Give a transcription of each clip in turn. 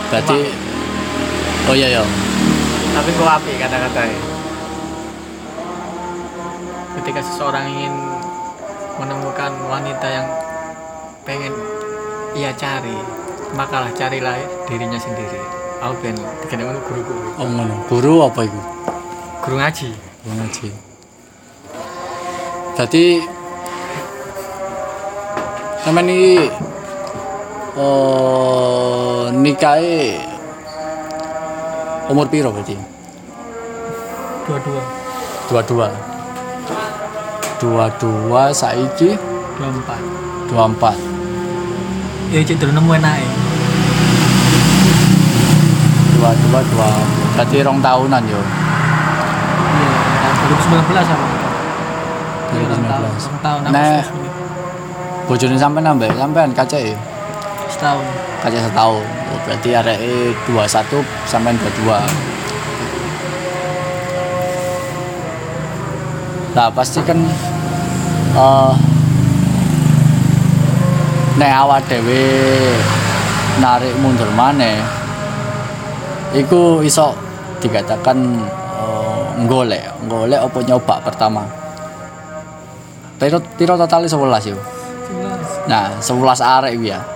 Berarti oh iya ya. Tapi kok apik kata-katanya. Ketika seseorang ingin menemukan wanita yang pengen ia cari, makalah carilah dirinya sendiri. Aku ben dikenal guruku. Oh ngono. Guru apa iku? Guru ngaji. Guru ngaji. Berarti sampean iki nikahe umur piro berarti? 22 saiki 24. Ya cek dulu nemu enake. 22 berarti 2 tahunan yo. Iya, 2019 sama. 2019. Tahun Nah, bojone sampean ambek sampean kacake setahun. kaca setahun. Oh, berarti areke 21 sampean 22. Nah, pasti kan nek awak dhewe narik mundur maneh iku iso dikatakan golek apa nyoba pertama. Piro total 11 yo. 11. Nah, 11 arek iki ya.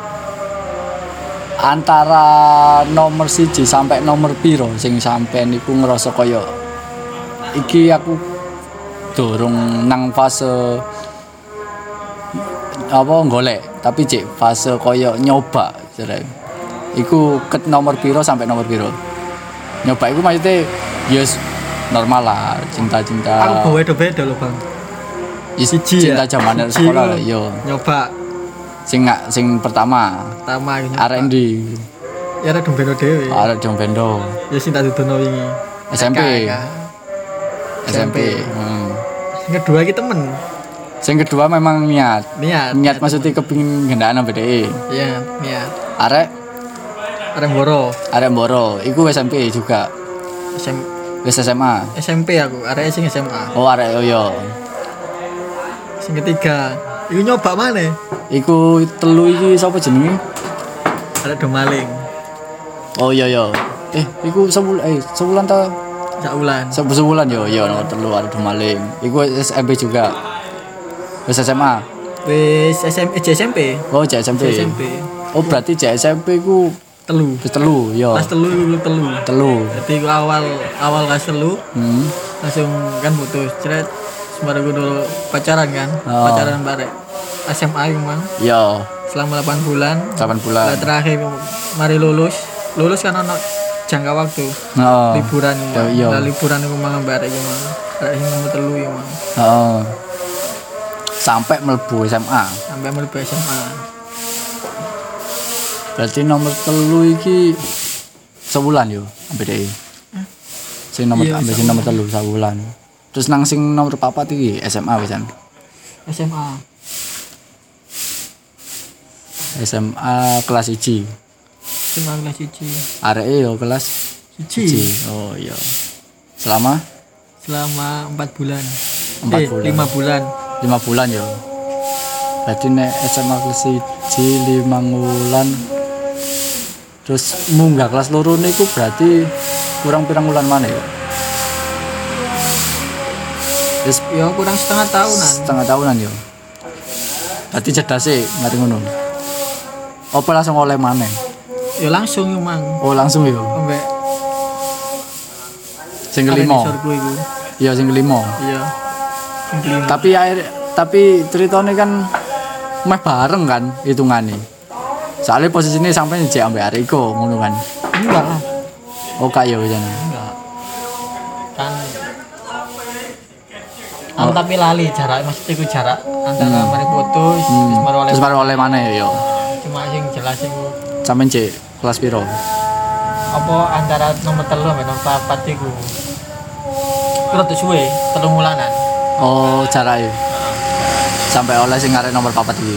Antara nomor 1 sampai nomor piro sing sampean iku ngerasa kaya iki aku durung nang fase apa golek, tapi cek fase kaya nyoba jare. Iku ket nomor piro sampai nomor piro? Nyoba iku maksudnya yes normal lah, cinta-cinta. Aku bawa beda loh, Bang. Siji cinta zaman sekolah lah, yo. Nyoba Sing pertama iki arek ndi? Ya arek Dombendo dhewe. Arek Dombendo. Ya sing tak dudono wingi. SMP. Kakak. SMP. Sing kedua iki temen. Sing kedua memang niat maksudnya kepingin gendaan ambek dhek. Iya, niat. Arek Arek Mboro, iku SMP juga. Wis SMA. SMP aku, arek sing SMA. Oh, arek yo. Sing ketiga, iku nyoba maneh. Iku telu iki sapa jenenge? Arek Domaling. Oh iya. Iku sebulan ta? Saulan. Sebulan yo, nomor telu arek Domaling. Iku SMP juga. Wis SMA. Wis SMP. Oh, SMP. Oh, berarti SMP ku telu yo. Kelas telu. Jadi ku awal kelas telu. Langsung kan putus. Cret. Sembarang dulu pacaran kan. Pacaran bareng. SMA yang mang. Yo. Selama 8 bulan. Lah terakhir mari lulus kan ono jangka waktu. Liburan. Lah liburan iku mang bareng iku mang. Bareng sing nomor telu iku mang. Sampai mlebu SMA. Berarti nomor telu iki sebulan yo ambek dhek. Sing nomor ambek sing nomor telu sebulan. Terus nang sing nomor 4 iki SMA wisan. SMA kelas 1. Areke yo kelas 1. Oh iya. Selama 4 bulan. 5 bulan. 5 bulan yo. Berarti nek SMA kelas 1 5 bulan. Terus munggah kelas loro niku berarti kurang pirang bulan mana ya? Wis ya kurang setengah tahunan yo. Berarti jeda sih mari ngono. Apa langsung oleh maneh? Ya langsung yo, Mang. Oh, langsung yo. Ambek sing kelima. Iya, sing kelima. Iya. Tapi ceritane kan meh bareng kan hitungane. Soalnya posisinya sampai jek ambek arek iku ngono kan. Enggak lah. Oh, kaya wisan. Enggak. Kan tapi lali jarak maksudnya iku jarak antara mari putus terus mari oleh maneh yo. Cuma sing jelas iku sampean cek kelas piro? Apa antara nomor 3 sampai nomor 4 iku. Terus suwe 3 bulanan. Oh, jarake. Sampai oleh sing arek nomor 4 iki.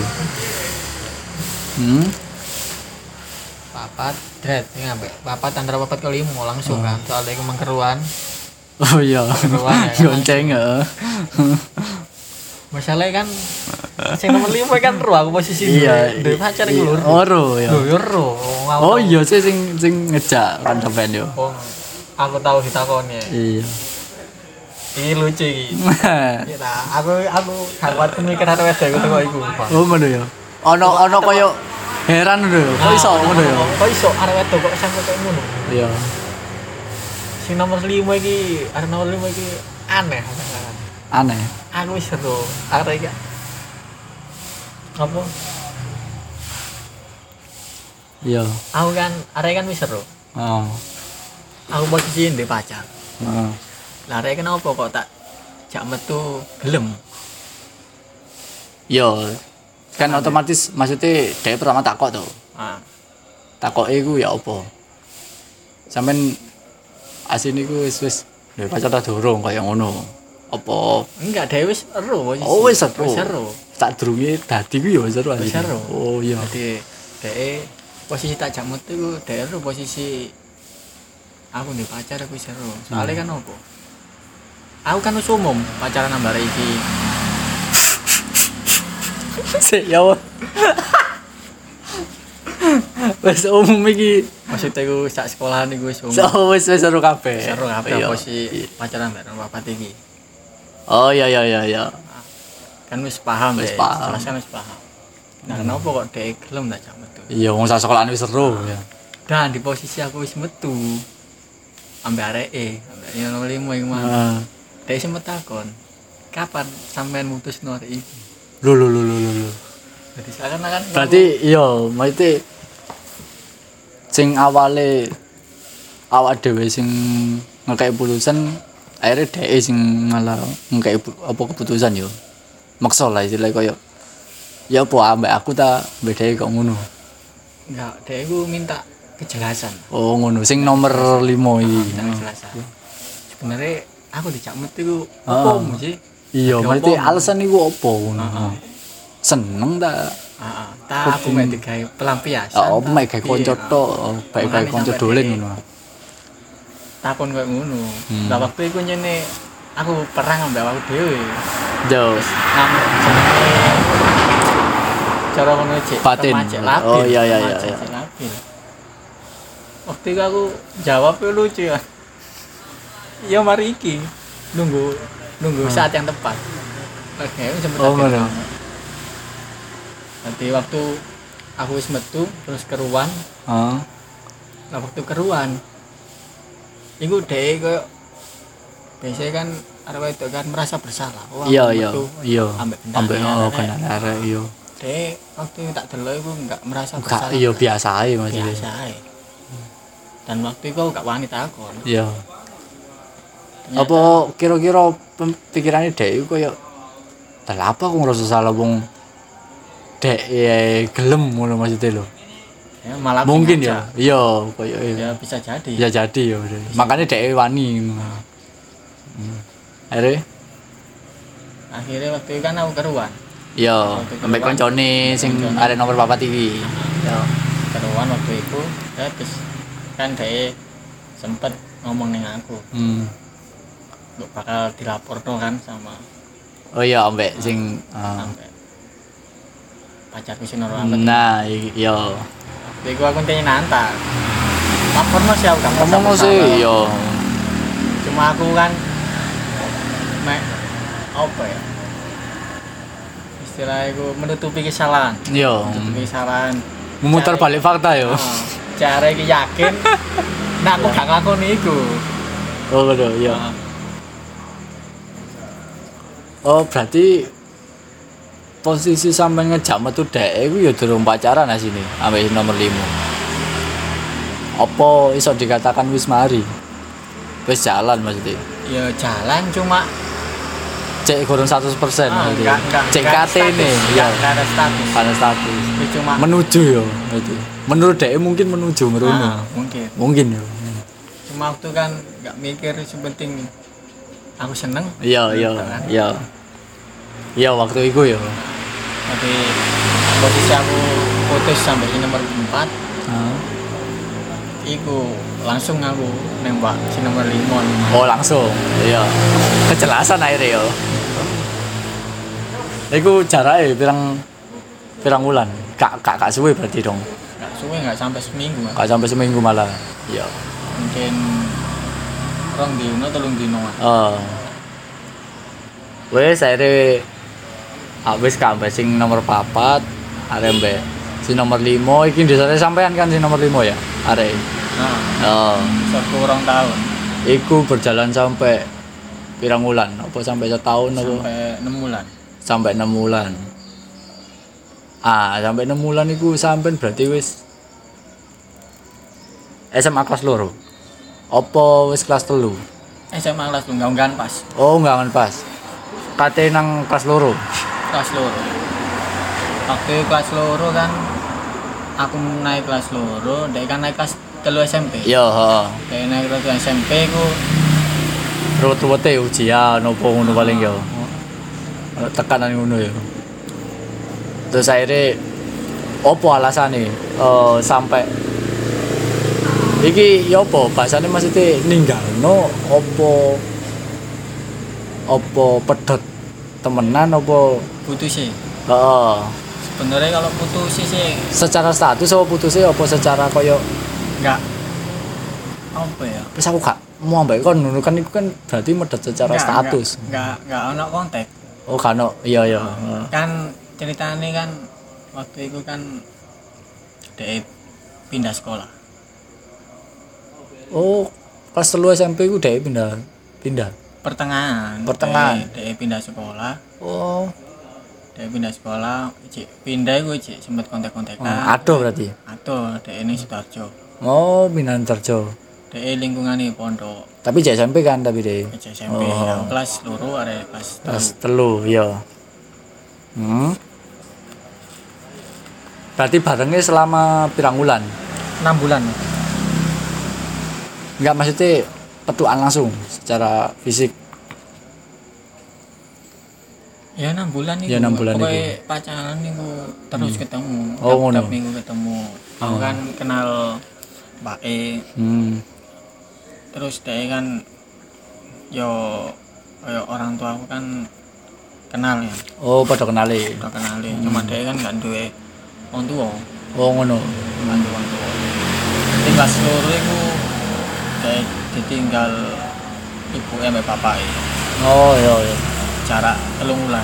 Papat, dret, ngambek papat antara 4 ke 5 langsung kan. Soalnya iku mengkeruan. Oh iya. Gonceng heeh. Masalahnya kan sing nomor 5 kan ro aku posisi duwe pacar iku lho. Oh ro ya. Lho yo ro. Oh iya sih sing ngejak kan sampean yo. Oh, aku tahu ditakoni. Iya. Iki lucu iki. Iya ta, aku gak kuat mikir arep wedok iku kok iku. Oh ngono ya. Ono koyo heran lho. Kok iso ngono ya? Kok iso arep wedok kok sampe koyo ngono. Iya. Sing nomor 5 iki, arep nomor 5 iki aneh. Aneh. Aku wis seru. Arek iki apa? Iya. Aku kan arek kan wis seru. Oh. Aku posisi ndek pacar. Heeh. Lah arek kenapa kok tak jak metu gelem? Yo, kan otomatis maksudnya dia pertama takok tuh. Ah, Takoke iku ya apa? Sampeyan asine iku wis duwe pacar ta durung kaya ngono. Apa? enggak dhewe wis seru posisi. Oh wis seru. Wis seru. Tak durunge dadi ku ya wis seru Wis asine. seru. Oh iya. Jadi dhek posisi tak jak metu iku dhek seru posisi aku ndek pacar aku wis seru. Soale kan opo? Aku kan wis umum pacaran ambare iki. Sik ya. Wis umum iki. Maksudnya iku sak sekolahan iku wis umum. So wis seru kabeh. Seru kabeh Iya. posisi pacaran bareng bapak iki. Oh iya. Kan wis paham Wis deh, paham. jelas kan wis paham. Nah, kenapa kok dhek gelem tak jak metu? Iya wong sak sekolahan wis seru ya. Dan di posisi aku wis metu ambek areke, ambek nomor 5 iku mah. Heeh. Dhek sempet takon, "Kapan sampean mutusno arek iki?" Lho. Jadi seakan-akan Berarti iya, maksudnya sing awale awak dhewe sing ngekek putusan akhirnya dhek sing malah ngekek apa keputusan yo. Maksa lah istilahnya koyo ya apa ambek aku ta bedane kok ngono. enggak, dhek iku minta kejelasan. Oh ngono sing nomor 5 iki. Minta kejelasan. Sebenarnya aku dijak metu iku apa sih? Iya, Ada berarti apa? alasan iku apa ngono. Heeh. Seneng ta? Heeh. Tak aku mek digawe pelampiasan. Oh, mek gawe kanca tok, bae gawe kanca dolen ngono. Takon koyo ngono. Lah waktu iku nyene aku perang ambek aku dhewe. Yo. Nang jenenge cara ngono cek. Batin. Remaja labil. Oh, iya. Remaja cek labil. Waktu itu aku jawabnya lucu ya. Ya mari iki nunggu saat yang tepat. Oke, sempet Oh, ngono. Nanti waktu aku wis metu terus keruan. Heeh. Nah waktu keruan iku dhek koyo biasanya kan arek wedok kan merasa bersalah. Wah, Iya. Ambek Ambek kendali kendali arek iya. Dek, waktu tak delok iku enggak merasa Gak bersalah. iya biasa ae maksudnya. Biasa ae. Dan waktu itu aku gak wani takon. Iya. Ternyata- Apa kira-kira pikirannya dek iku koyo lah apa aku ngerasa salah wong dek gelem ngono maksudnya lho. Ya, malah Mungkin aja. ya. Iya, koyo Ya bisa jadi. ya jadi ya udah. Makanya dek wani. Akhirnya Akhirnya waktu itu kan aku keruan. iya, sampai koncone sing arek nomor 4 iki. Ya, keruan waktu itu. Ya terus kan dhek sempet ngomong ning aku, "Mbok bakal dilaporno kan sama Oh iya, ambek sing sampai pacarku sing noro aku." nah, iya. Waktu itu aku tanya nantang. Laporno sih aku gak merasa Ngomong bersalah. sih, iya. Cuma aku kan mek apa ya? Istilahnya aku menutupi kesalahan. Iya. Menutupi kesalahan. Memutar balik fakta ya. Cara iki yakin nek aku gak nglakoni iku. Oh, bener, iya. Nah, Oh, berarti posisi sampean ngejak metu dek iku ya durung pacaran asine ambek nomor 5. Apa iso dikatakan wis mari? Wis jalan maksudnya. ya jalan cuma Cek kurang 100% maksudnya. enggak Cek KT nih, ya. enggak ada status. Karena status. Ya cuma Menuju ya berarti. Menurut dek mungkin menuju merono. mungkin. Mungkin ya. Cuma waktu kan enggak mikir sepenting aku seneng. Iya. Iya waktu itu ya. Tapi posisi aku putus sampai di nomor 4. Iku langsung aku nembak si nomor 5. Oh langsung. Iya. Kejelasan akhirnya ya. Iku jarake pirang wulan. Kak suwe berarti dong. Nggak suwe nggak sampai seminggu Mas. Kak sampai seminggu malah. Iya. Mungkin 2 dino 3 dino. Wes akhirnya wis kabeh sing nomor 4 arek mbek si nomor 5 iki desane sampean kan si nomor 5 ya arek. Nah. Sekurang tahun. Iku berjalan sampai pirang wulan? Apa sampai setahun apa? Sampai 6 bulan. Sampai 6 bulan. Sampai 6 bulan iku sampean berarti wis SMA kelas loro. Apa wis kelas 3? SMA kelas lu enggak pas. Oh, enggak pas. Kate nang kelas loro. Kelas loro. Waktu kelas loro kan aku naik kelas loro, dia kan naik kelas 3 SMP. Iya, heeh. Dia naik kelas 3 SMP ku Ruwet-ruwete ujian opo ngono paling ya. Tekanan ngono ya. Terus akhirnya opo alasane sampai iki ya opo bahasane maksudnya ninggalno opo pedot temenan opo putus sih. heeh. Sebenarnya kalau putus sih Secara status apa putusnya apa secara koyo enggak apa ya? wis aku gak mau ambek kon ngono kan iku kan berarti medhot secara status. Enggak ono kontak. Oh kan iya. Kan ceritanya kan waktu itu kan dia pindah sekolah. Oh, kelas 3 SMP ku dhek pindah. Pertengahan. Dia pindah sekolah. Oh, Dia pindah sekolah, pindah gue sempat kontak-kontakan. aduh berarti. Aduh, dia ini Sidoarjo. Oh, Minantarjo. Dia lingkungan ini pondok. Tapi jek SMP kan tapi dhek. SMP, yang kelas loro ada kelas Kelas 3 ya. Berarti barengnya selama pirang wulan? 6 bulan. Enggak maksudnya petuan langsung secara fisik. Ya 6 bulan itu. Ya, 6 bulan pokoknya pacaran itu terus ketemu. Oh, ngono. Tiap minggu ketemu. Aku kan kenal Mbak E. Terus dia kan yo orang tua aku kan kenal ya. Oh, padha kenali. Udah kenali. Cuma dia kan gak duwe wong tua. Oh, ngono. Gak duwe wong tua. Tinggal seluruh itu dia ditinggal ibu mbak bapak e. Oh, iya. Jarak 3 bulan.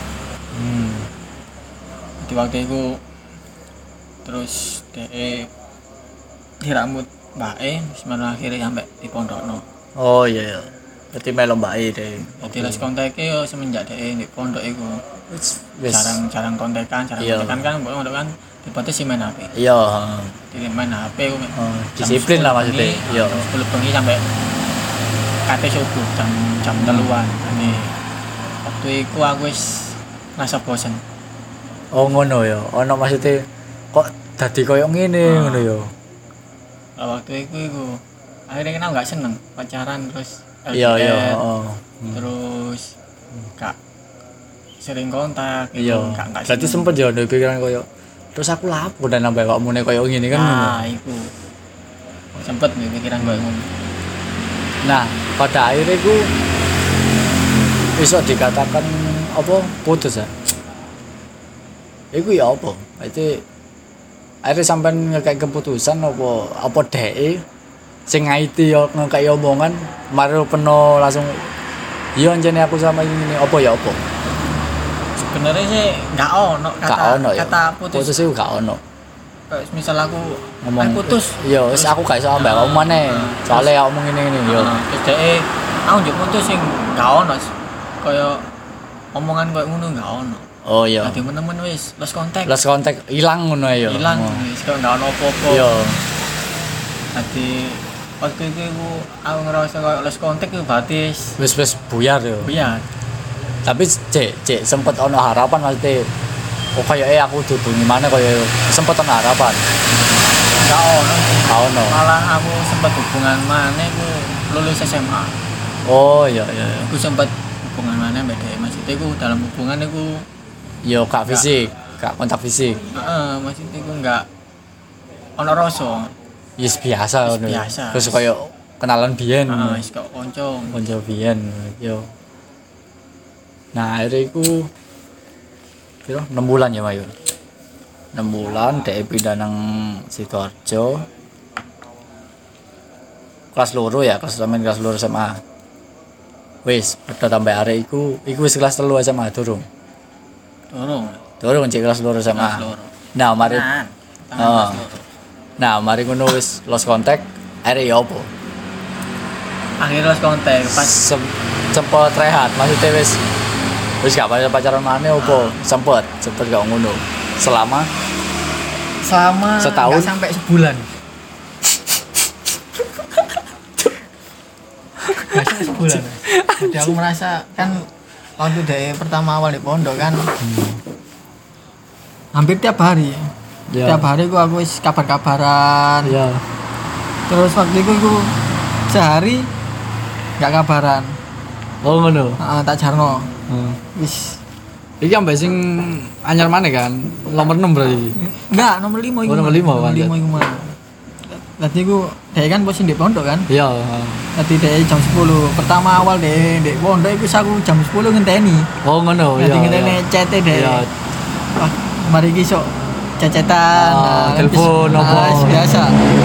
Di waktu itu terus dia dirambut Mbak E sebenarnya akhirnya sampai di Pondokno. Oh iya. Berarti melo Mbak E deh. Jadi les kontaknya yo semenjak dia di pondok itu Wis jarang kontekan kan pondok kan dibatasi main HP. Iya, Jadi main HP disiplin lah maksudnya. Iya. 10 bengi sampai kate subuh jam 3-an. Ini waktu itu aku wis ngerasa bosen. Oh ngono ya. Ono maksudnya kok dadi koyo ngene ngono ya. Waktu itu akhirnya kan aku gak seneng pacaran terus Iya, terus gak sering kontak iya. gak Berarti sempet ya ada pikiran koyo terus aku lapo dan nambah awakmu nek koyo ngene kan ngono. Iku sempet nih pikiran koyo ngono. Nah, pada akhirnya ku bisa dikatakan apa putus ya. Iku ya apa? Berarti akhirnya sampean ngekek keputusan apa dhek sing ngaiti yo ngekek omongan mari peno langsung iya anjene aku sama ini apa ya apa? Sebenarnya sih gak ono kata putus. Putus itu gak ono. Misal aku ngomong putus. Iya, wis aku gak iso ambek kamu maneh. Soale aku ngomong ngene yo. Terus dhek aku njuk putus sing gak ono. Kaya omongan koyo ngono gak ono. Oh iya. Dadi temen wis lost kontak ilang ngono ya. Ilang wis kok gak ono apa-apa. Iya. Dadi waktu itu aku ngerasa koyo lost kontak itu berarti wis buyar yo. Buyar. Tapi cek sempet ono harapan maksudnya kok kayak aku dudu gimana kayak sempet ono harapan. Gak ono. No. Malah aku sempat hubungan mana aku lulus SMA. Oh iya. Aku sempat hubungan mana beda maksudnya aku dalam hubungan aku yo kak fisik, kak kontak fisik. Maksudnya aku enggak ono rasa. Yes biasa ngono. Biasa. Terus kayak kenalan biyen. Wis kok kanca biyen yo. Nah, akhirnya iku piro 6 bulan ya Mayu 6 bulan dhek pindah nang Sidoarjo kelas loro ya kelas loro SMA wis padha tambah arek iku wis kelas 3 SMA durung cek kelas loro SMA Kelas loro. nah mari Tangan nah mari ngono wis lost contact arek ya opo akhirnya los kontak pas sempet rehat maksudnya wis gak pacaran maneh opo sempet gak ngono selama setahun nggak sampai sebulan. Nggak sampai sebulan. Jadi aku merasa kan waktu dari pertama awal di pondok kan hampir tiap hari. Ya. Tiap hari aku wis kabar-kabaran. ya Terus waktu itu aku sehari nggak kabaran. oh ngono Tak jarno. Wis iki ambek sing anyar maneh kan nomor 6 berarti enggak nomor 5 iku. Oh, nomor 5 kan, Nomor 5 iku mah. Tadi ku dhek kan posisi di pondok kan. iya Tadi dhek jam 10. Pertama awal dhek pondok iku aku jam 10 ngenteni. oh ngono Nanti iya ngenteni chat dhek. iya Wah, mari iki sok cecetan. Ah, telepon apa. Biasa.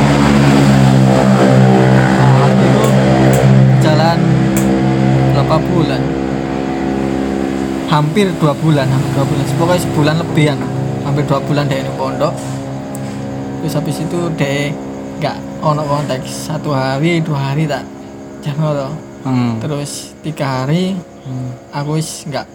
Waktu itu jalan berapa bulan? Hampir 2 bulan. Pokoknya sebulan lebihan. Hampir 2 bulan dhek di pondok. Terus habis itu dhek enggak ono konteks 1 hari 2 hari tak jangan to. Terus 3 hari aku wis enggak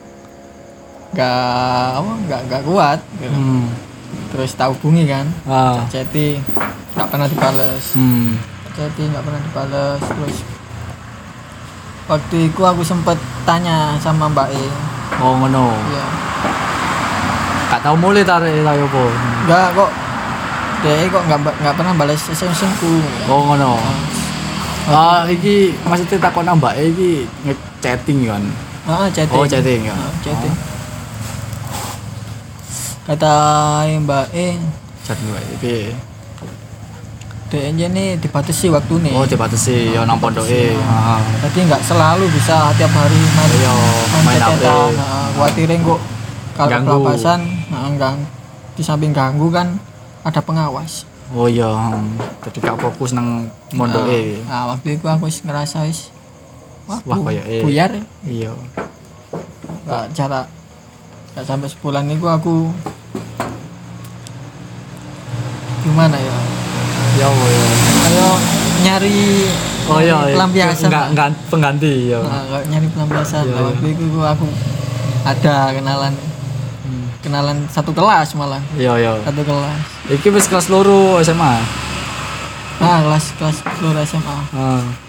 kuat gitu. Terus tak hubungi kan chatting enggak pernah dibales chatting enggak pernah dibales. Terus waktu itu aku sempet tanya sama Mbak E. oh ngono Iya. gak tau mulai tarik ta opo Enggak kok dia kok enggak pernah balas SMS ku. oh ngono iki maksudnya takon nambah iki nge-chatting kan Chatting. oh chatting ya Chatting. Kata Mbak E, chatting wae iki dia ini dibatasi waktu nih. oh dibatasi ya nang pondoke heeh Jadi nggak selalu bisa tiap hari main Iya, main HP. chat-chatan. Khawatirnya kok kalau Ganggu. kelapasan, di samping ganggu kan ada pengawas. oh iya jadi gak fokus nang mondoke Waktu itu aku ngerasa wis Wah, kayak buyar. iya Nggak sampai sebulan itu aku gimana ya? ya Kayak nyari oh iya pelampiasan. enggak pengganti ya Kayak nyari pelampiasan. Iya, Waktu itu aku ada kenalan satu kelas malah. iya Satu kelas. iki wis kelas loro SMA Kelas luar SMA.